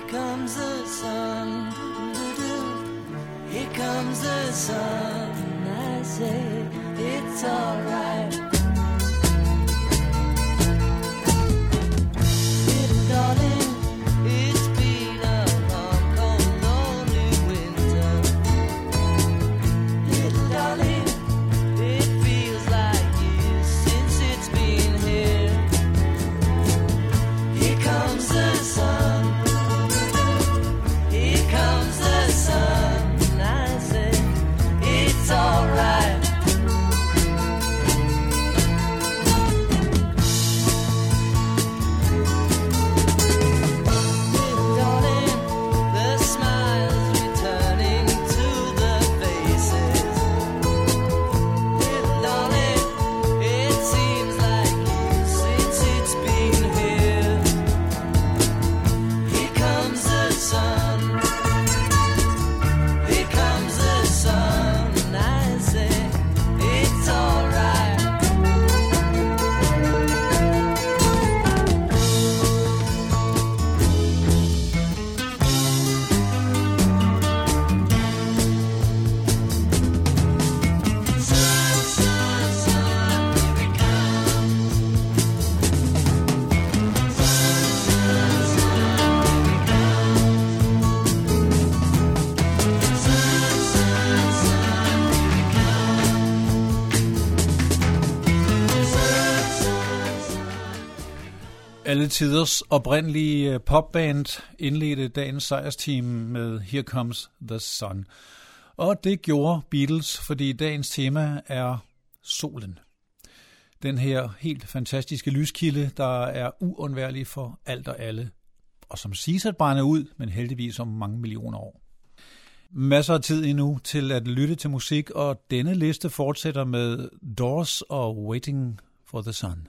comes the sun, here comes the sun. I say it's alright. Little darling, it's been a long, cold, lonely winter. Little darling, it feels like years since it's been here. Here comes the sun. Here comes the sun. I say it's alright. Alle tiders oprindelige popband indledte dagens sejrsteam med Here Comes the Sun. Og det gjorde Beatles, fordi dagens tema er solen. Den her helt fantastiske lyskilde, der er uundværlig for alt og alle, og som siges at brænde ud, men heldigvis om mange millioner år. Masser af tid endnu til at lytte til musik, og denne liste fortsætter med Doors og Waiting for the Sun.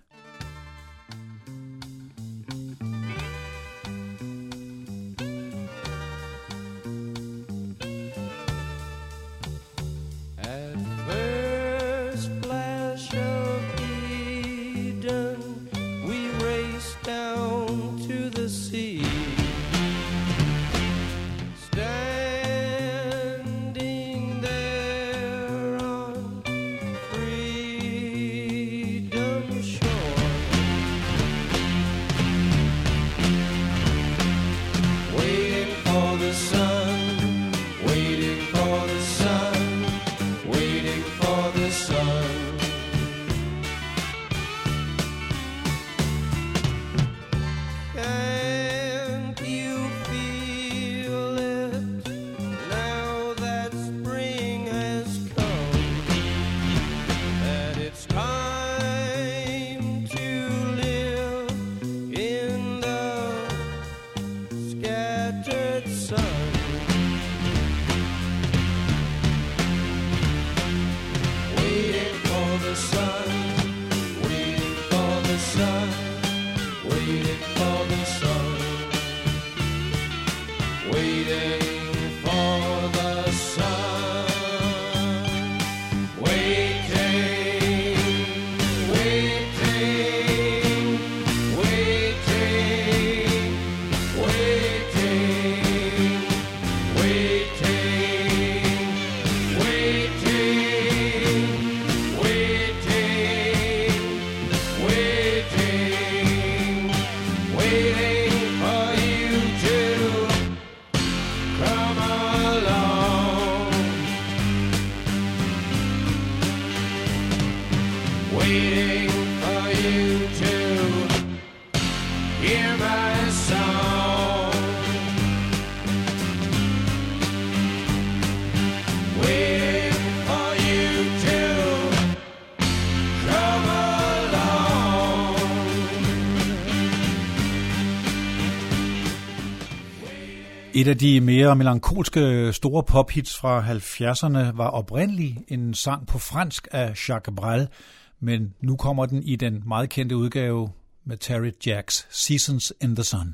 Et af de mere melankolske store pophits fra 70'erne var oprindeligt en sang på fransk af Jacques Brel, men nu kommer den i den meget kendte udgave med Terry Jacks Seasons in the Sun.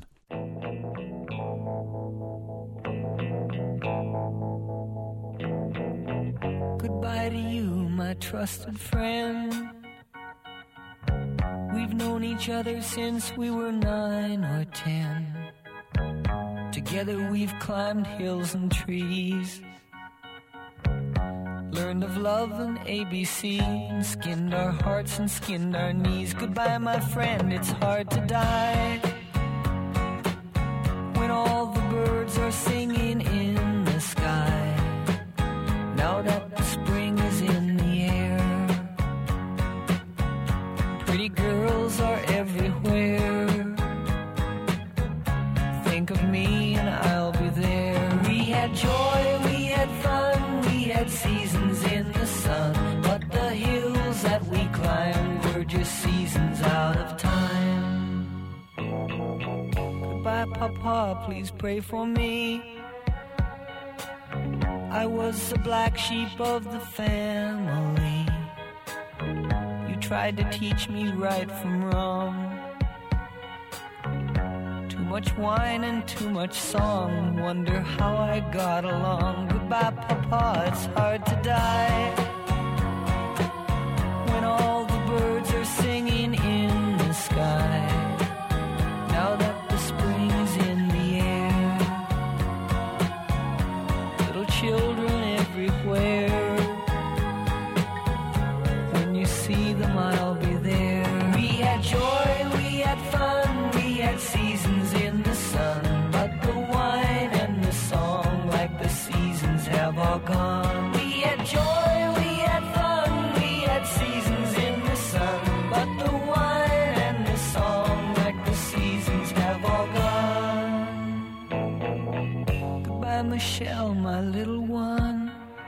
Goodbye to you, my trusted friend. We've known each other since we were 9 or 10. Together we've climbed hills and trees, learned of love and ABC, and skinned our hearts and skinned our knees. Goodbye, my friend, it's hard to die when all the birds are singing in the sky. Now that the spring is in the air, pretty girls are everywhere. Think of me and I'll be there. We had joy, we had fun, we had seasons in the sun, but the hills that we climbed were just seasons out of time. Goodbye, Papa, please pray for me. I was the black sheep of the family. You tried to teach me right from wrong. Too much wine and too much song, wonder how I got along. Goodbye, Papa, it's hard to die when all the birds are singing in the sky. Now that the spring is in the air, little children everywhere. When you see them, I'll be there. We had joy, we had fun, we had seasons in the sun, but the wine and the song, like the seasons, have all gone. We had joy, we had fun, we had seasons in the sun, but the wine and the song, like the seasons, have all gone. Goodbye, Michelle, my little one.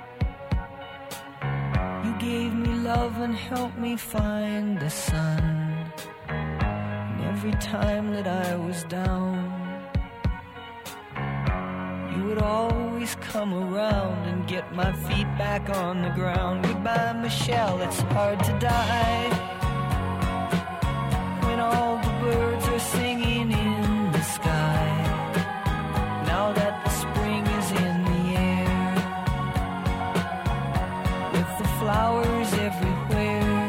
You gave me love and helped me find the sun. And every time that I was down, you would always come around and get my feet back on the ground. Goodbye, Michelle, it's hard to die when all the birds are singing in the sky. Now that the spring is in the air, with the flowers everywhere,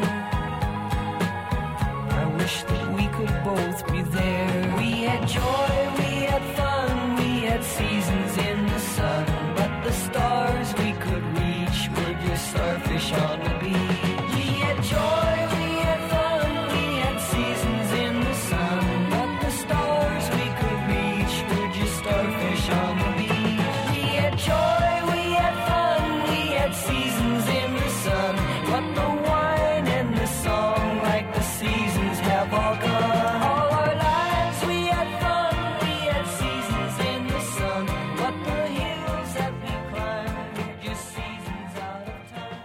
I wish that we could both be there. We had joy, we had fun, we had seasons in the sun, but the stars we could reach were just starfish on the beach. We had joy, we had fun, we had seasons in the sun, but the stars we could reach were just starfish on the beach. We had joy, we had fun, we had seasons in the sun, but the wine and the song, like the seasons, have all gone. All our lives we had fun, we had seasons in the sun, but the hills that we climbed were just seasons out of time.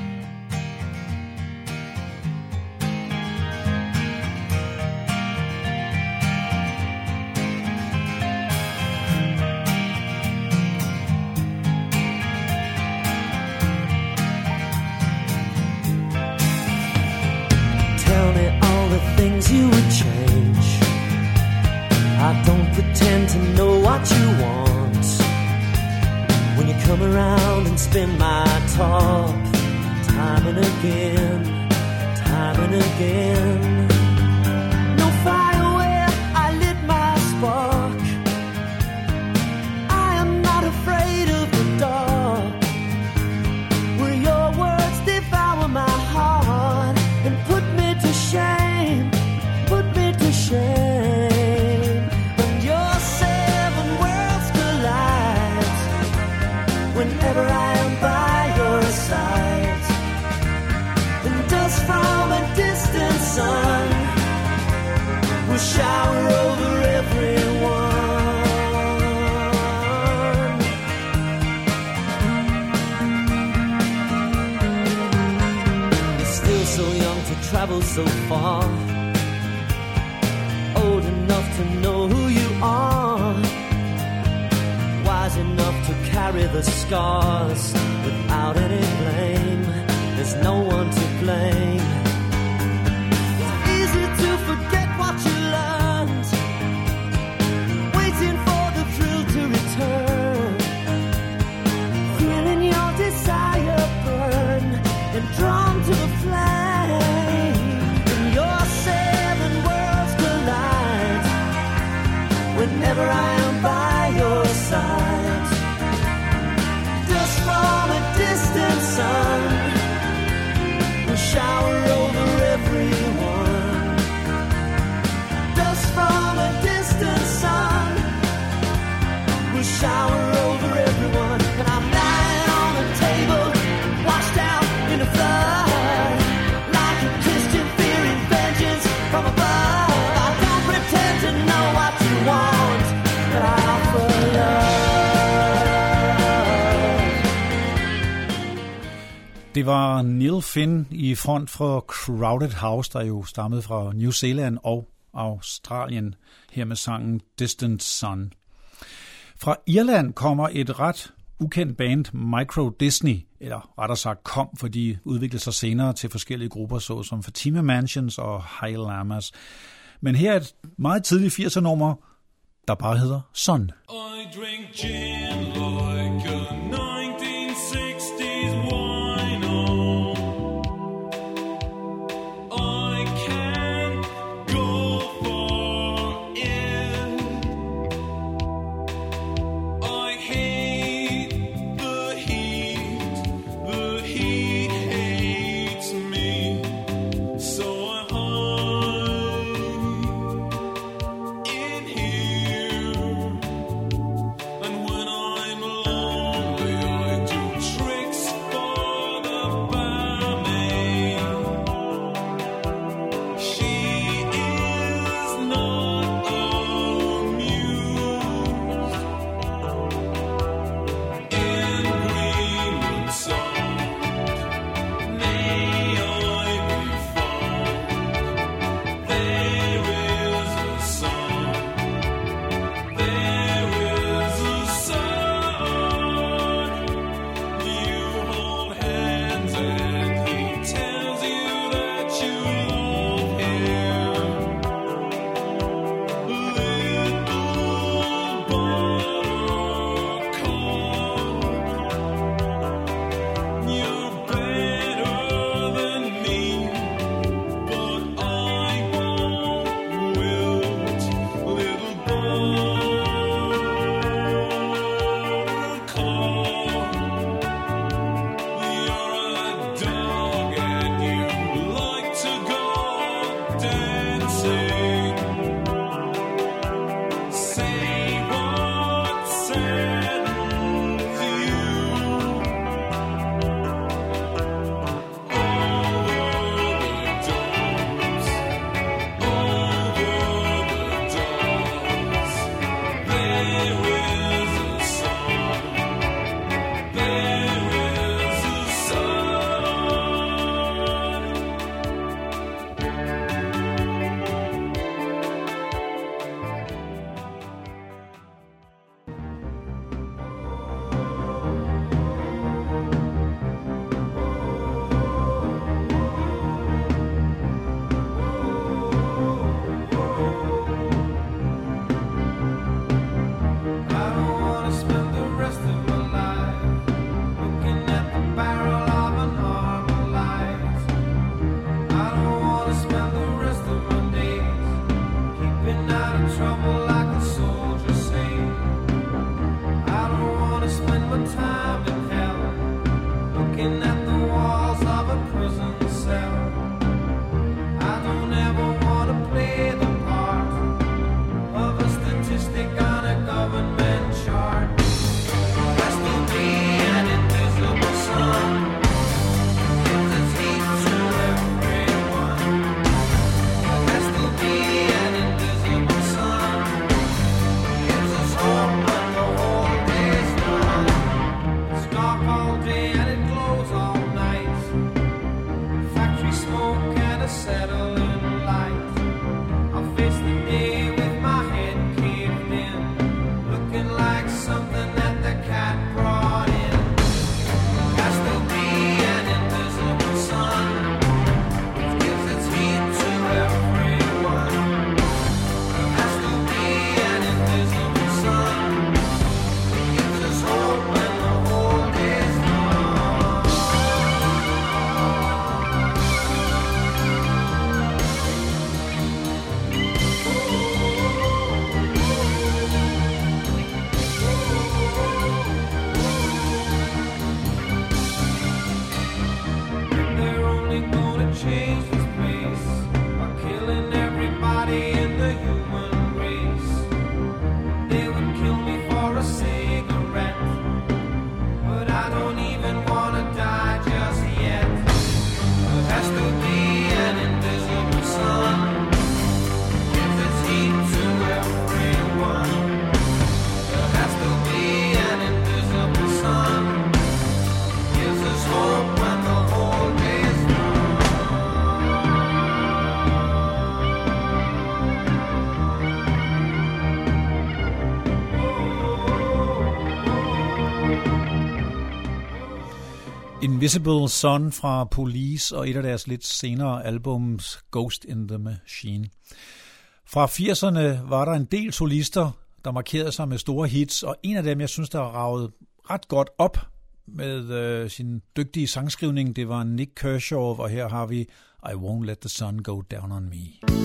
Tell me all the things you would change. I don't pretend to know what you want. When you come around and spin my top, time and again, time and again. No fire where I lit my spark. I am not afraid of the dark. Will your words devour my heart and put me to shame, put me to shame? When your seven worlds collide, whenever I am by your side, and dust from a distant sun will shower over everyone. You're still so young to travel so far, old enough to know who you are, wise enough to carry the scars without any blame. There's no one to blame. It's easy to forget what you learned, waiting for the thrill to return, feeling your desire burn and drawn to the flame. And your seven worlds collide whenever I am by your Det var Neil Finn i front for Crowded House, der jo stammede fra New Zealand og Australien, her med sangen Distant Sun. Fra Irland kommer et ret ukendt band, Micro Disney, eller rettere sagt kom, for de udviklede sig senere til forskellige grupper, såsom Fatima Mansions og High Lamas. Men her er et meget tidligt 80'er-nummer, der bare hedder Sun. I drink gin like a 1960s wino. I can't go for it. I hate the heat hates me, so I hide in here. And when I'm Invisible Sun fra Police og et af deres lidt senere albums Ghost in the Machine. Fra 80'erne var der en del solister, der markerede sig med store hits, og en af dem, jeg synes, der raget ret godt op med sin dygtige sangskrivning, det var Nick Kershaw, og her har vi I Won't Let the Sun Go Down on Me.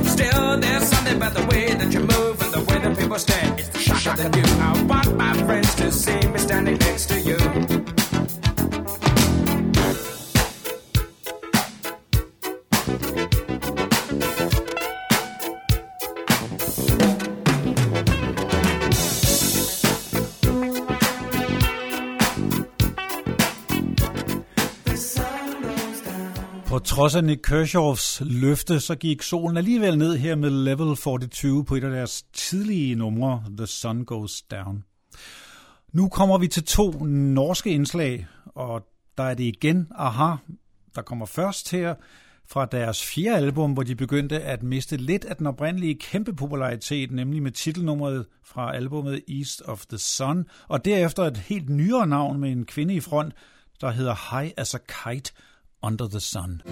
about the way that you move and the way that people stare. It's the shock of the new. I want my friends På trods af Nick Kershaws løfte, så gik solen alligevel ned her med Level 42 på et af deres tidlige numre, The Sun Goes Down. Nu kommer vi til 2 norske indslag, og der er det igen Aha, der kommer først her fra deres 4. album, hvor de begyndte at miste lidt af den oprindelige kæmpe popularitet, nemlig med titelnummeret fra albumet East of the Sun, og derefter et helt nyere navn med en kvinde i front, der hedder High as a Kite Under the Sun.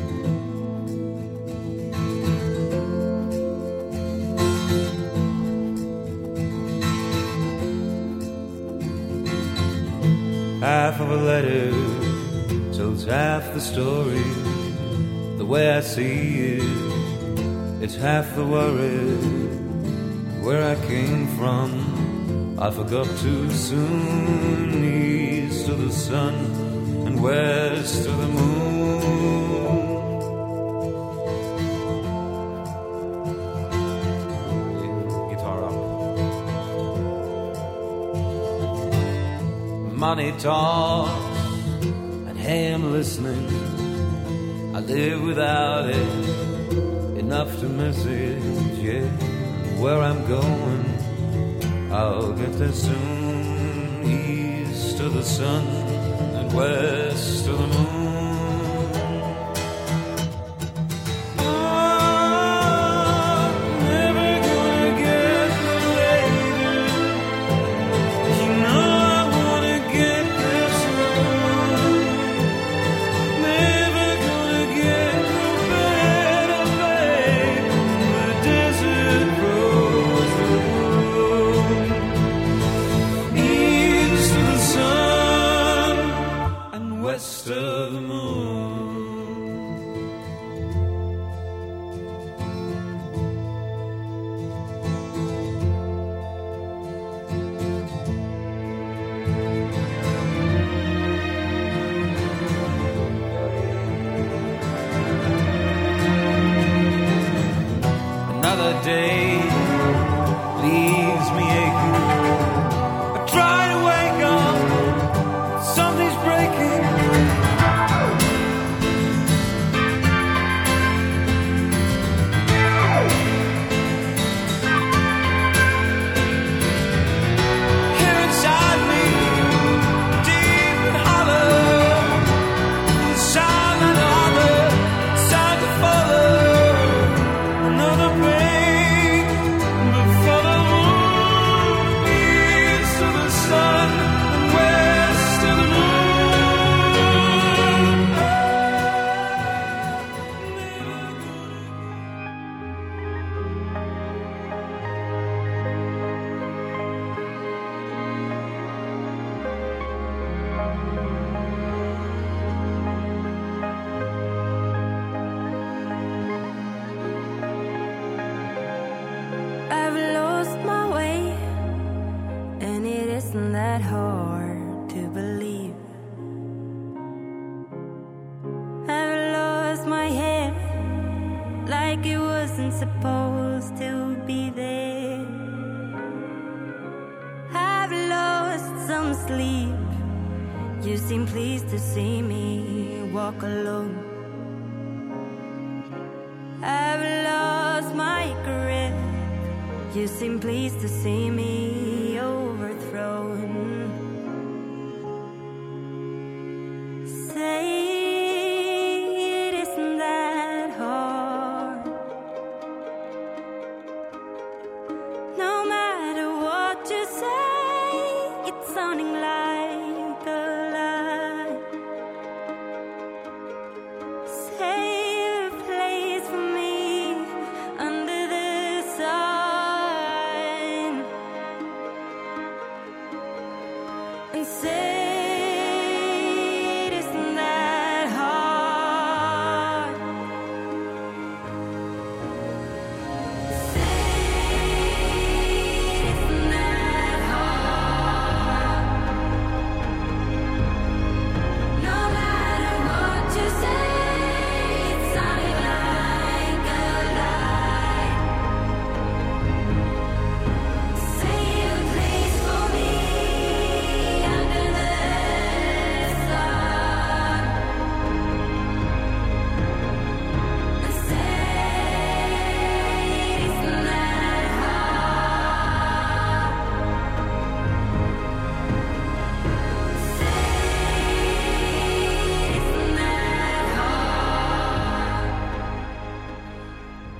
Half of a letter tells half the story. The way I see it, it's half the worry. Where I came from, I forgot too soon. East of the sun and west of the moon. Guitar up. Money talks, and hey, I'm listening. I live without it, enough to miss it, yeah. Where I'm going, I'll get there soon. East of the sun and west of the moon.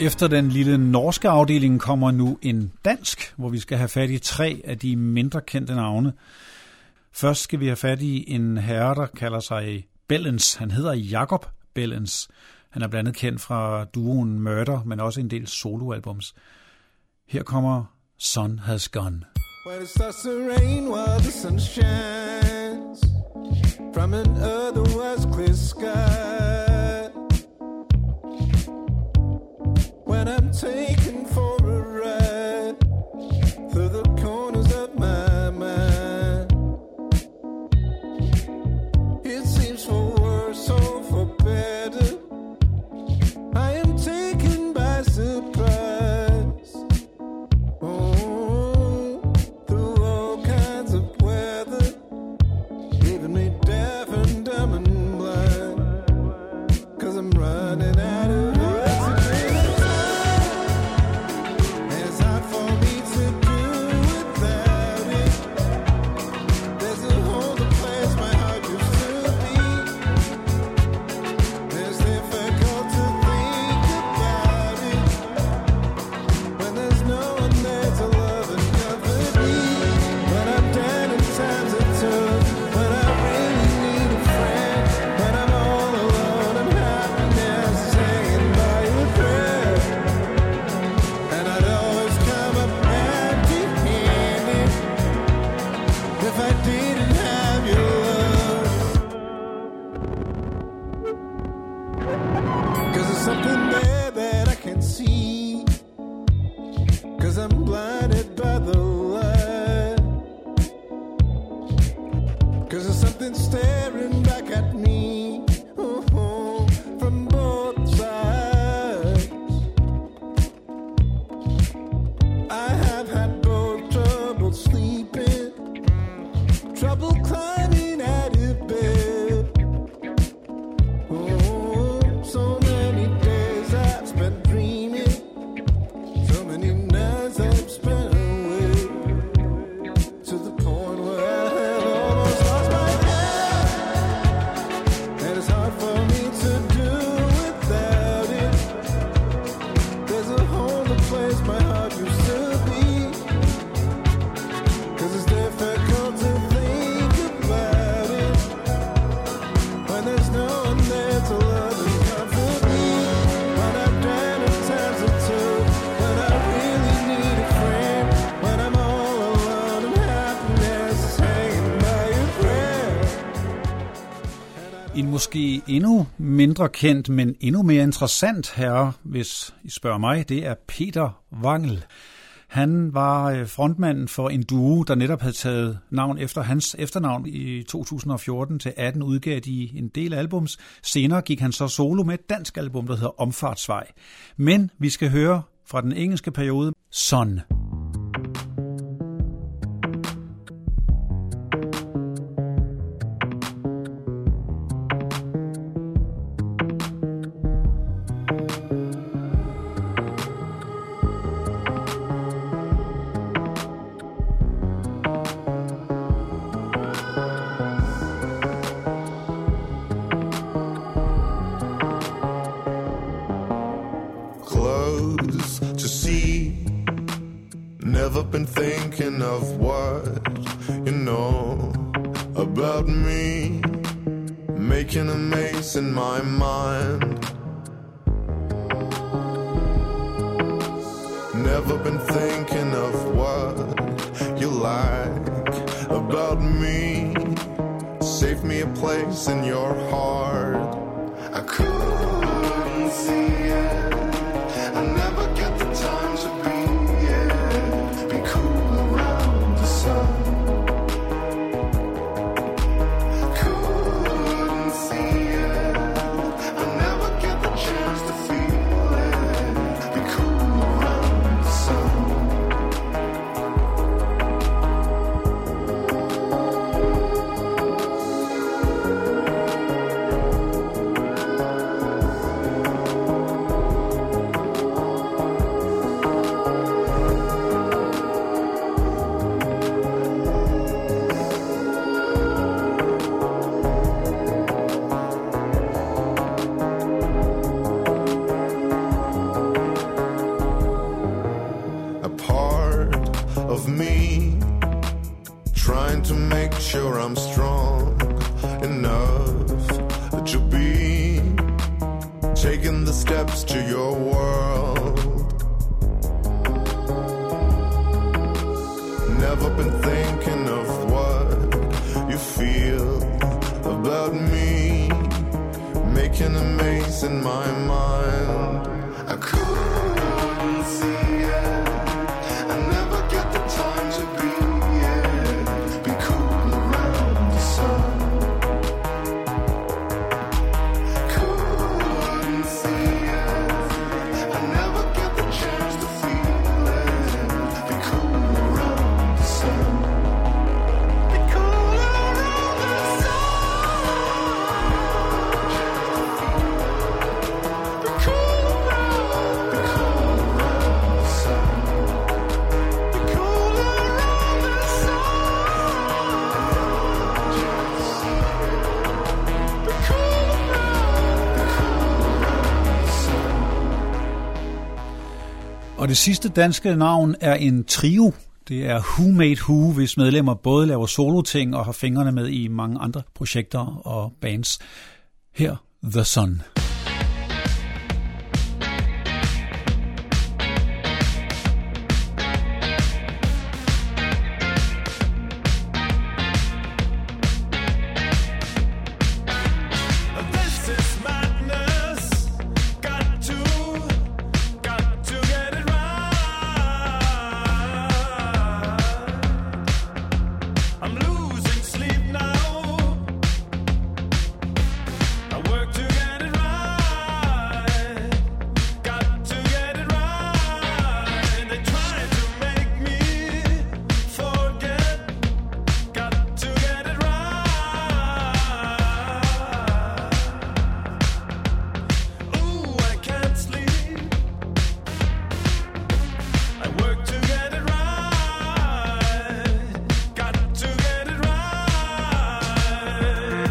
Efter den lille norske afdeling kommer nu en dansk, hvor vi skal have fat i 3 af de mindre kendte navne. Først skal vi have fat i en herre, der kalder sig Bellens. Han hedder Jakob Bellens. Han er blandt andet kendt fra duoen Murder, men også en del soloalbums. Her kommer Sun Has Gone. When it starts to rain while the sun shines from an otherwise clear sky, when I'm taken for a ride through the corners of my mind, it seems for worse or for better, I am taken by surprise. Måske endnu mindre kendt, men endnu mere interessant herre, hvis I spørger mig, det er Peter Wangel. Han var frontmanden for en duo, der netop havde taget navn efter hans efternavn. I 2014-18 udgav de en del albums. Senere gik han så solo med et dansk album, der hedder Omfartsvej. Men vi skal høre fra den engelske periode, Sun. Never been thinking of what you know about me, making a maze in my mind. Never been thinking of what you like about me. Save me a place in your heart. I couldn't see it. I never get the time to be cool around the sun. Couldn't see it. I never get the chance to feel it. Be cool around the sun. of me, trying to make sure I'm strong enough to be taking the steps to your world. Never been thinking of what you feel about me, making a maze in my mind. I couldn't see it, I never get the time to be it, be cool around the sun. Couldn't see it, I never get the chance to feel it, be cool around the sun. Be cool around the sun. Be cool around the sun. Be cool around the sun. Be cool around the sun. Og det sidste danske navn er en trio. Det er Who Made Who, hvis medlemmer både laver soloting og har fingrene med i mange andre projekter og bands. Her The Sun. This is madness. Got to get it right. I'm losing sleep now. I work to get it right. Got to get it right. They try to make me forget. Got to get it right. Ooh, I can't sleep. I work to get it right. Got to get it right.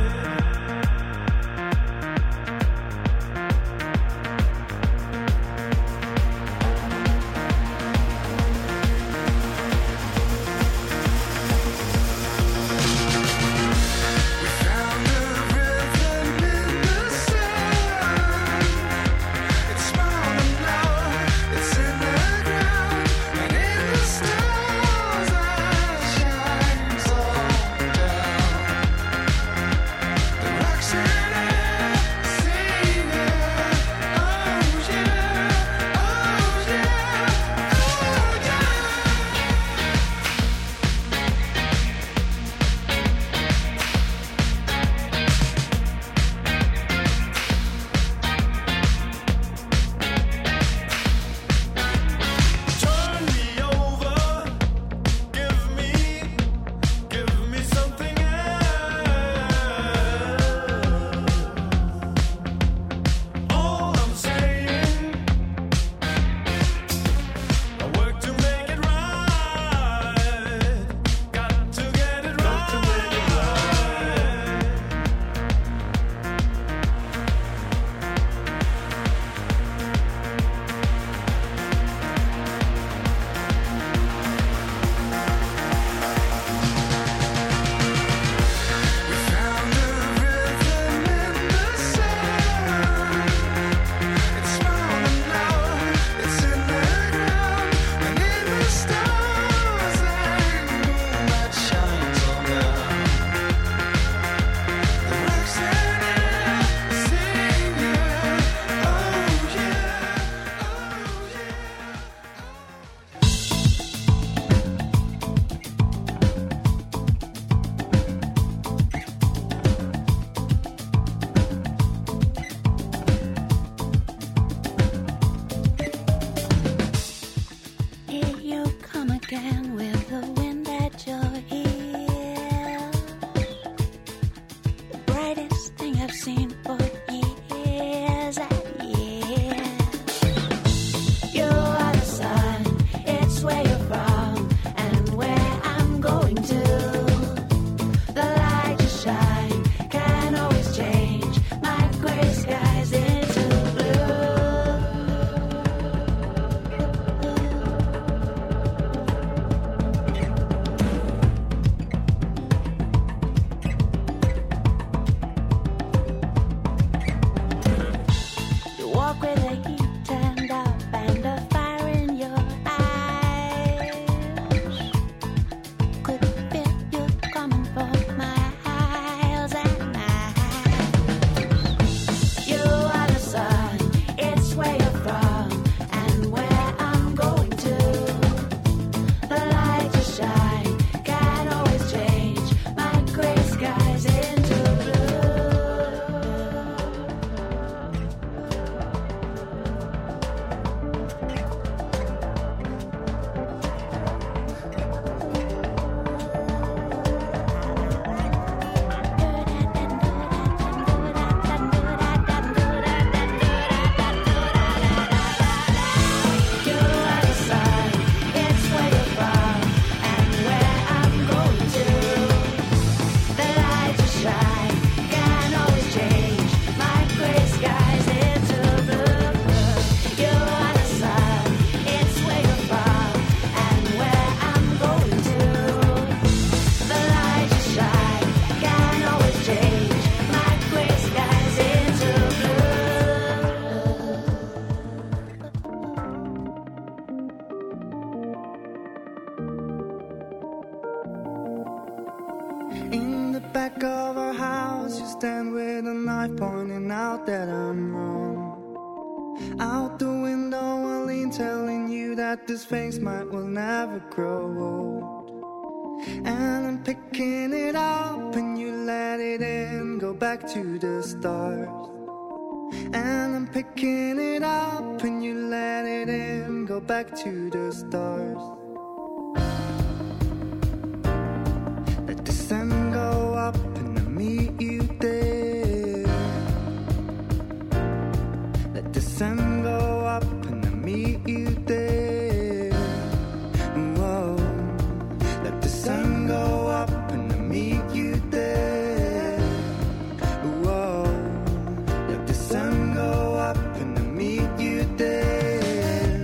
We found a rhythm in the sand. It's small enough, it's in the ground and in the stars that shines all down. The rocks in it, sing it, oh yeah, oh yeah, oh yeah. Turn me over, give me something else. All I'm saying, I work to make it right. Got to get it right. We found a rhythm in the sand. It's small enough, it's in the ground and in the stars and moon that shines all down. The rocks in it, sing it, oh yeah, oh yeah. Here you come again with the wind at your heel. The brightest thing I've seen for years and years. You are the sun, it's where you're from and where I'm going to. The light you shine can always change my gray skies into blue. In the back of our house, you stand with a knife pointing out that I'm wrong. Out the window, I lean, telling you that this face might will never grow old. And I'm picking it up, and you let it in, go back to the stars. And I'm picking it up, and you let it in, go back to the stars. Let the sun go up, and I'll meet you there. Let the sun go up, and I'll meet you there. Whoa. Let the sun go up, and I'll meet you there. Whoa. Let the sun go up, and I'll meet you there.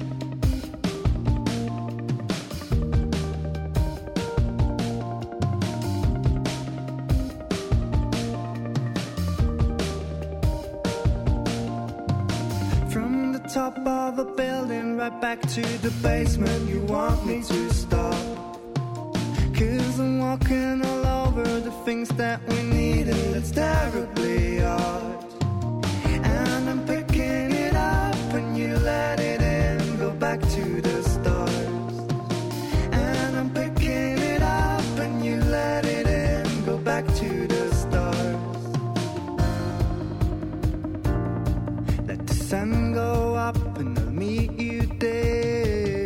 From the top of a building right back to the basement, you want me to stop. 'Cause I'm walking all over the things that we need, and it's terribly odd. And I'm picking it up, and you let it in, go back to the stars. And I'm picking it up, and you let it in, go back to the stars. Let the sun go up, and I'll meet you there.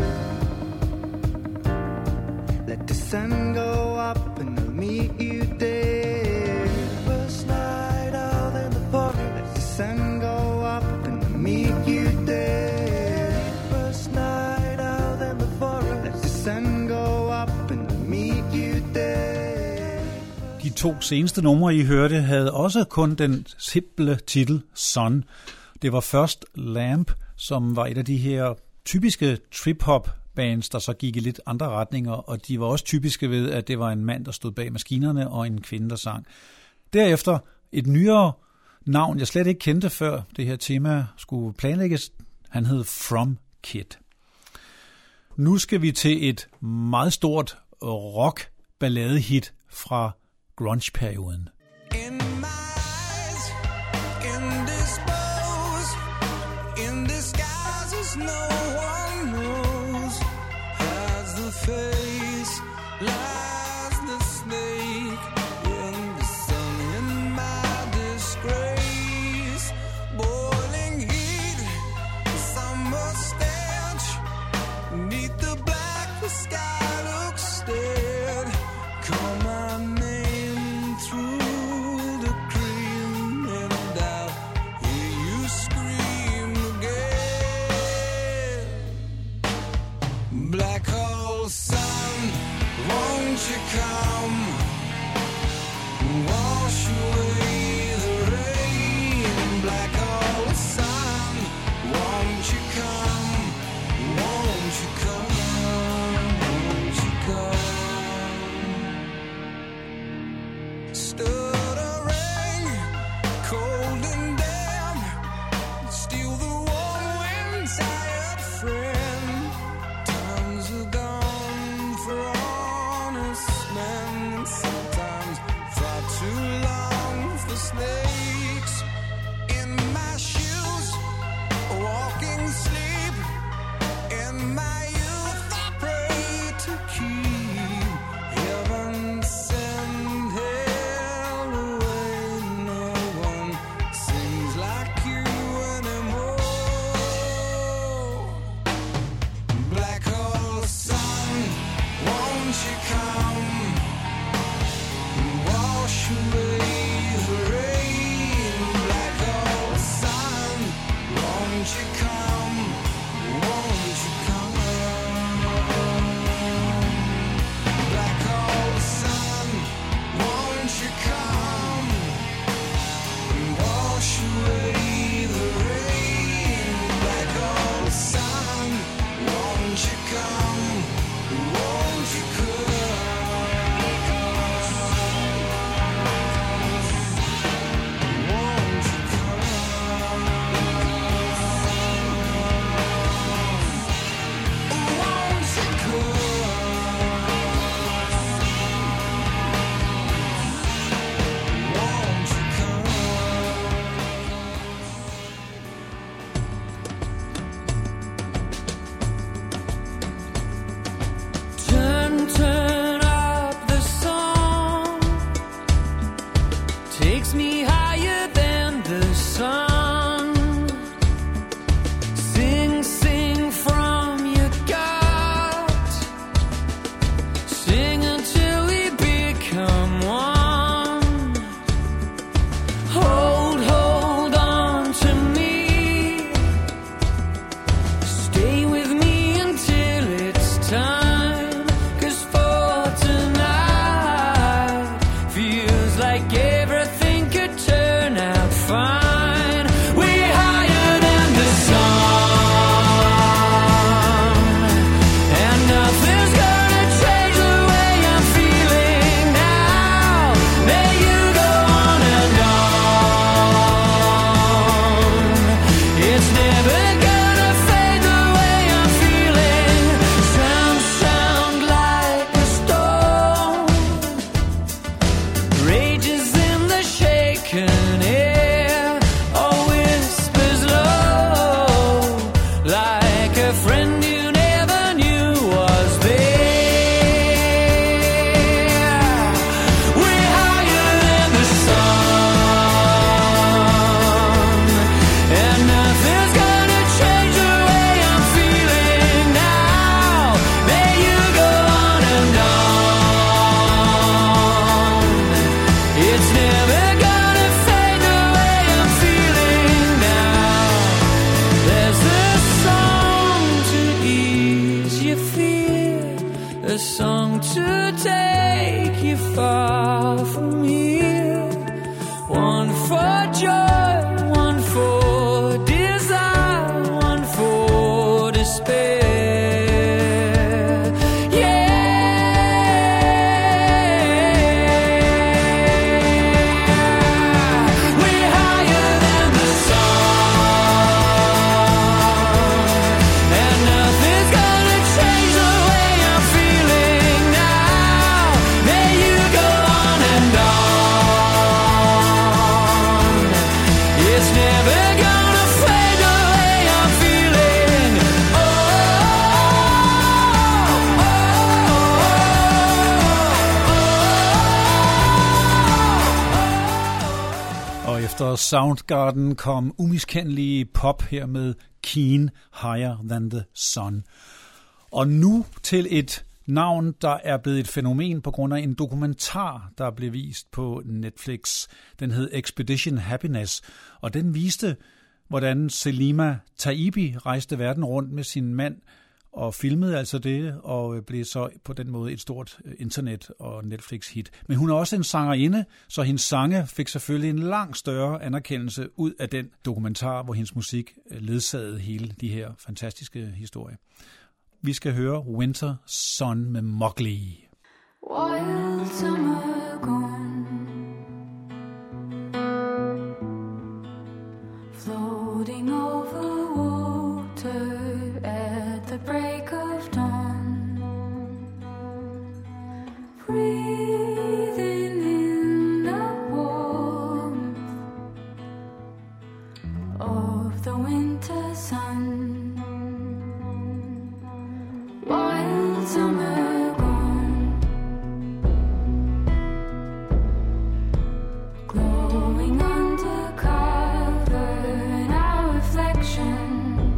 Let the sun go up, and I'll meet you there. First night out in the forest. Let the sun go up, and I'll meet you there. First night out in the forest. Let the sun go up, and I'll meet you there. De to seneste numre, I hørte, havde også kun den simple titel Sun. Det var først Lamp, som var et af de her typiske trip-hop bands, der så gik i lidt andre retninger, og de var også typiske ved, at det var en mand, der stod bag maskinerne, og en kvinde, der sang. Derefter et nyere navn, jeg slet ikke kendte før det her tema skulle planlægges. Han hed From Kid. Nu skal vi til et meget stort rock-balladehit fra grunge-perioden. In my eyes, indisposed, in disguises no one knows. Has the face, lies the snake in the sun. In my disgrace, boiling heat, summer stench. Neath the black, the sky looks dead. Call my name through the cream, and I'll hear you scream again. Black hole sun, won't you come? Wash away the rain. Black hole sun, won't you come? Won't you come? Won't you come? Stood a ring, cold and damp. Steal the warm wind, tired friend. Times are gone for honest men, and sometimes far too long a song to take you far from here. One for joy, one for desire, one for despair. Efter Soundgarden kom umiskendelige pop her med Keane, Higher Than The Sun. Og nu til et navn, der er blevet et fænomen på grund af en dokumentar, der blev vist på Netflix. Den hed Expedition Happiness, og den viste, hvordan Selima Taibi rejste verden rundt med sin mand og filmede altså det, og blev så på den måde et stort internet- og Netflix-hit. Men hun er også en sangerinde, så hendes sange fik selvfølgelig en langt større anerkendelse ud af den dokumentar, hvor hendes musik ledsagede hele de her fantastiske historier. Vi skal høre Winter Sun med Mowgli. Wild summer gone, floating over water at the break of dawn, breathing in the warmth of the winter sun. Wild summer gone, glowing under cover in our reflection.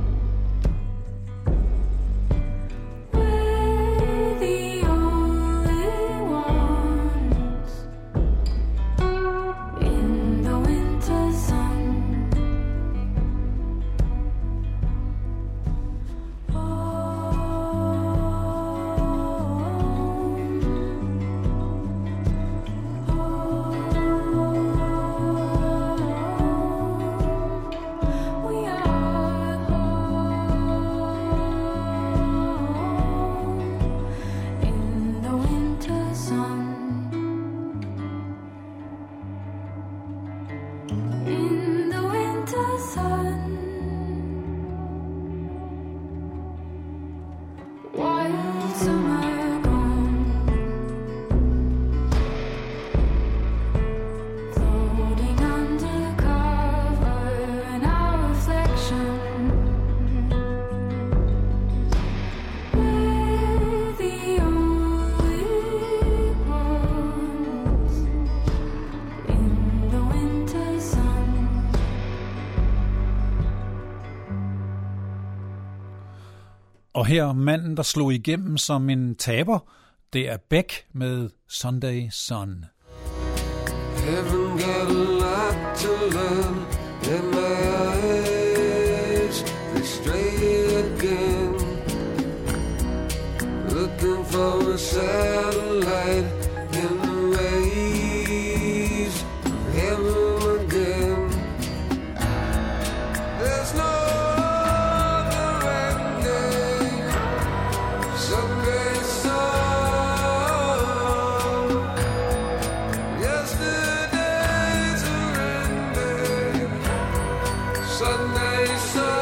We're the only ones in the winter sun. Og her manden, der slog igennem som en taber, det er Beck med Sunday Sun. Haven't got a lot to learn, and my eyes, they stray again, looking for a satellite in the rays of heaven again. There's no other ending, Sunday sun, yesterday's surrender, Sunday sun.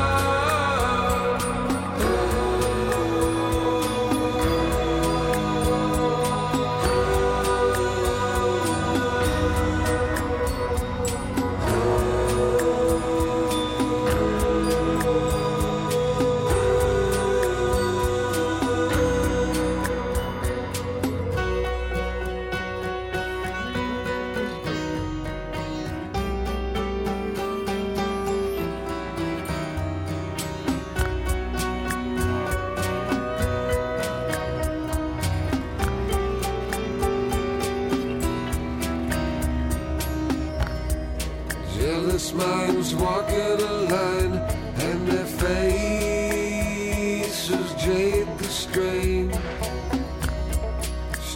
Jealous minds walking a line, and their faces jade the strain.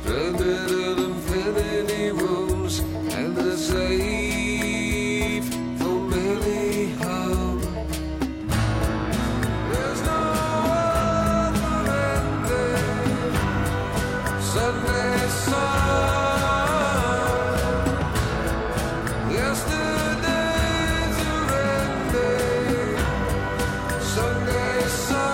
stranded in infinity rooms, and they're safe from any harm. There's no other ending. Sunday sun. Yesterday's are ending. Sunday sun.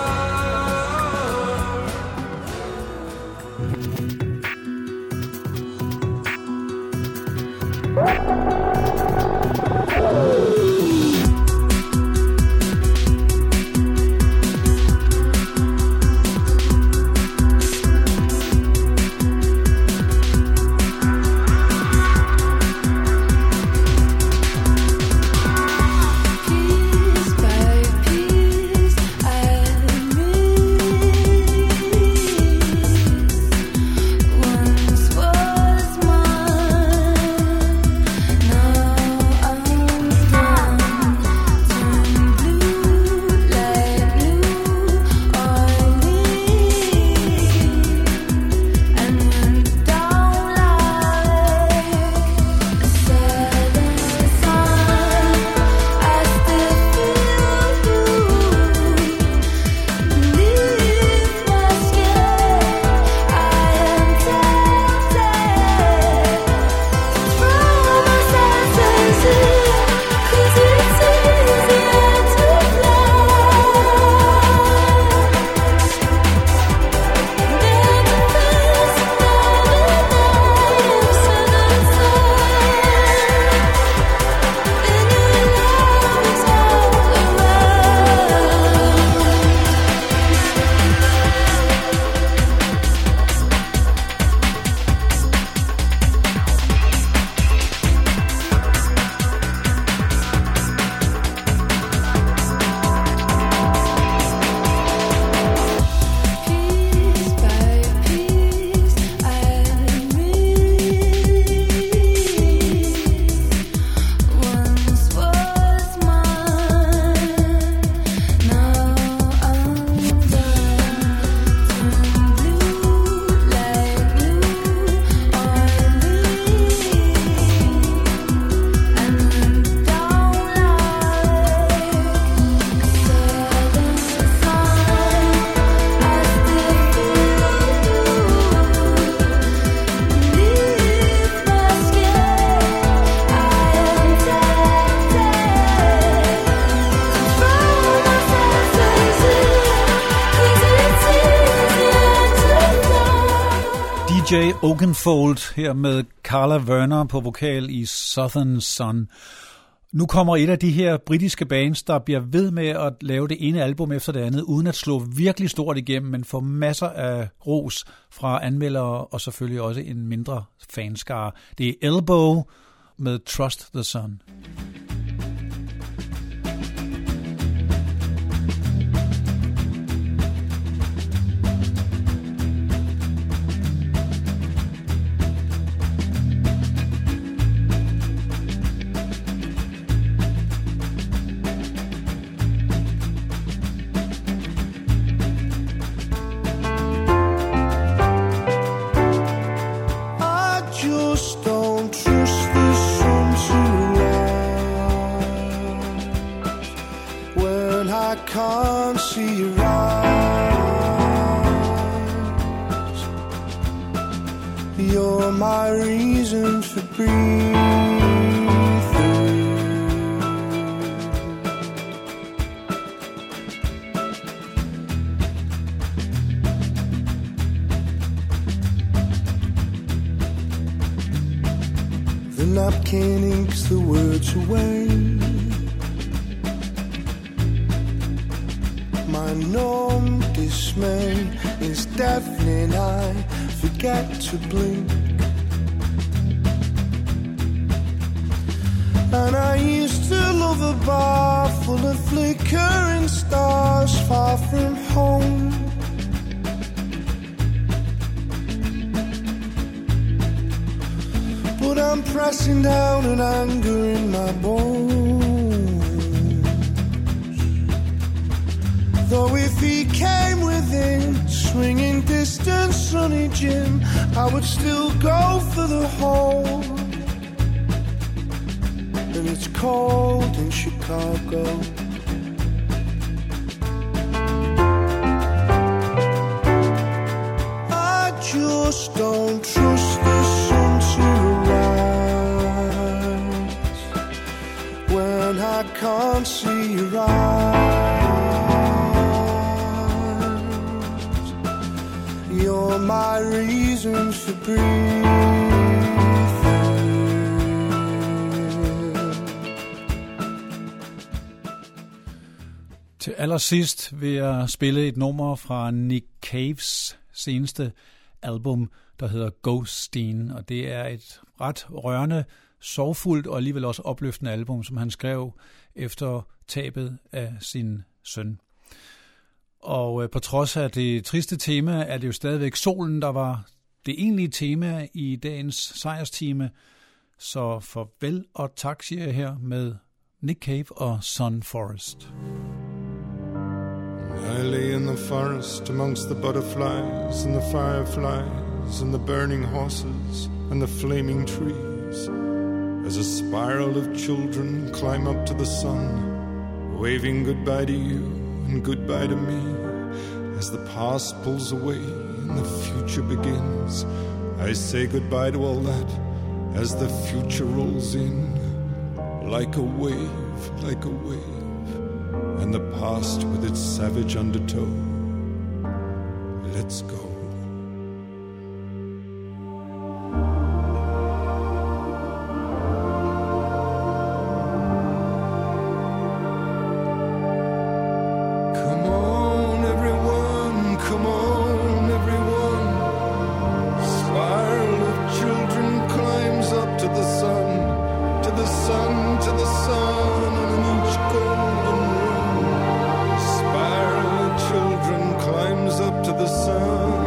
Piece by piece, I once was mine. Now I'm done. Turn blue like blue oily, and went down like a setting sun. I still feel you beneath my skin. I am tempted to throw my senses in, 'cause it's easier to fly than to face another night of southern sun. Then your love is all around. Piece by piece, I once was mine. Now I'm done. Turn blue like blue oily, and went down like a setting sun. I still feel you beneath my skin. I am tempted to throw my senses in, 'cause it's easier to fly. DJ Oakenfold her med Carla Werner på vokal i Southern Sun. Nu kommer et af de her britiske bands, der bliver ved med at lave det ene album efter det andet, uden at slå virkelig stort igennem, men få masser af ros fra anmeldere og selvfølgelig også en mindre fanskare. Det er Elbow med Trust the Sun. I just don't trust the sun to rise when I can't see your eyes. You're my reason for breathing. The napkin inks the words away. My numb dismay is deafening. I forget to blink. And I used to love a bar full of flickering stars far from home. But I'm pressing down an anger in my bones. Though if he came within swinging distance, sunny Jim, I would still go for the hole. And it's cold in Chicago. I just don't trust the sun to rise when I can't see your eyes. You're my reason for breathing. Til allersidst vil jeg spille et nummer fra Nick Caves seneste album, der hedder Ghosteen, og det er et ret rørende, sorgfuldt og alligevel også opløftende album, som han skrev efter tabet af sin søn. Og på trods af det triste tema, er det jo stadigvæk solen, der var det egentlige tema i dagens sejrstime. Så farvel og tak, siger jeg her med Nick Cave og Sun Forest. I lay in the forest amongst the butterflies and the fireflies and the burning horses and the flaming trees, as a spiral of children climb up to the sun, waving goodbye to you and goodbye to me. As the past pulls away and the future begins, I say goodbye to all that as the future rolls in, like a wave, like a wave. And the past with its savage undertow. Let's go. Come on, everyone, come on, everyone. Spiral of children climbs up to the sun, to the sun, to the sun, and in each golden climbs up to the sun.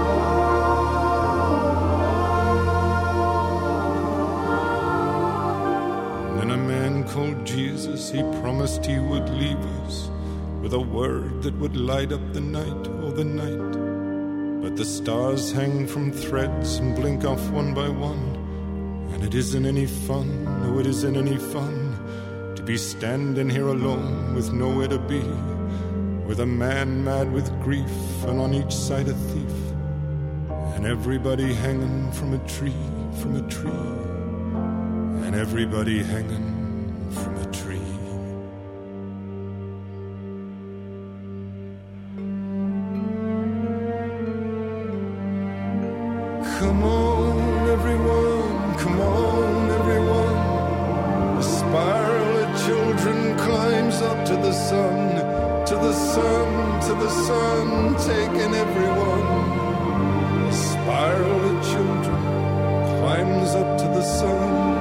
Then a man called Jesus, he promised he would leave us with a word that would light up the night, oh the night. But the stars hang from threads and blink off one by one, and it isn't any fun, no it isn't any fun, to be standing here alone with nowhere to be, with a man mad with grief, and on each side a thief, and everybody hanging from a tree, from a tree, and everybody hanging from a tree. Come on, everyone, come on, everyone. A spiral of children climbs up to the sun, to the sun, to the sun, taking everyone. A spiral of children climbs up to the sun.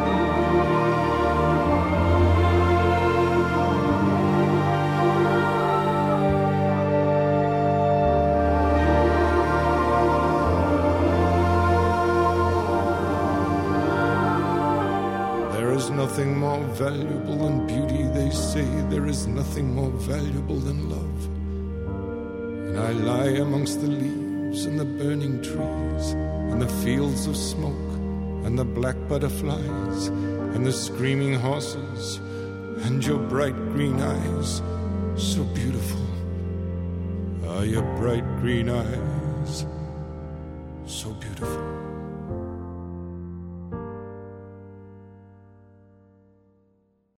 There is nothing more valuable than beauty, they say. There is nothing more valuable than love. And I lie amongst the leaves and the burning trees and the fields of smoke and the black butterflies and the screaming horses and your bright green eyes, so beautiful. Ah, your bright green eyes, so beautiful.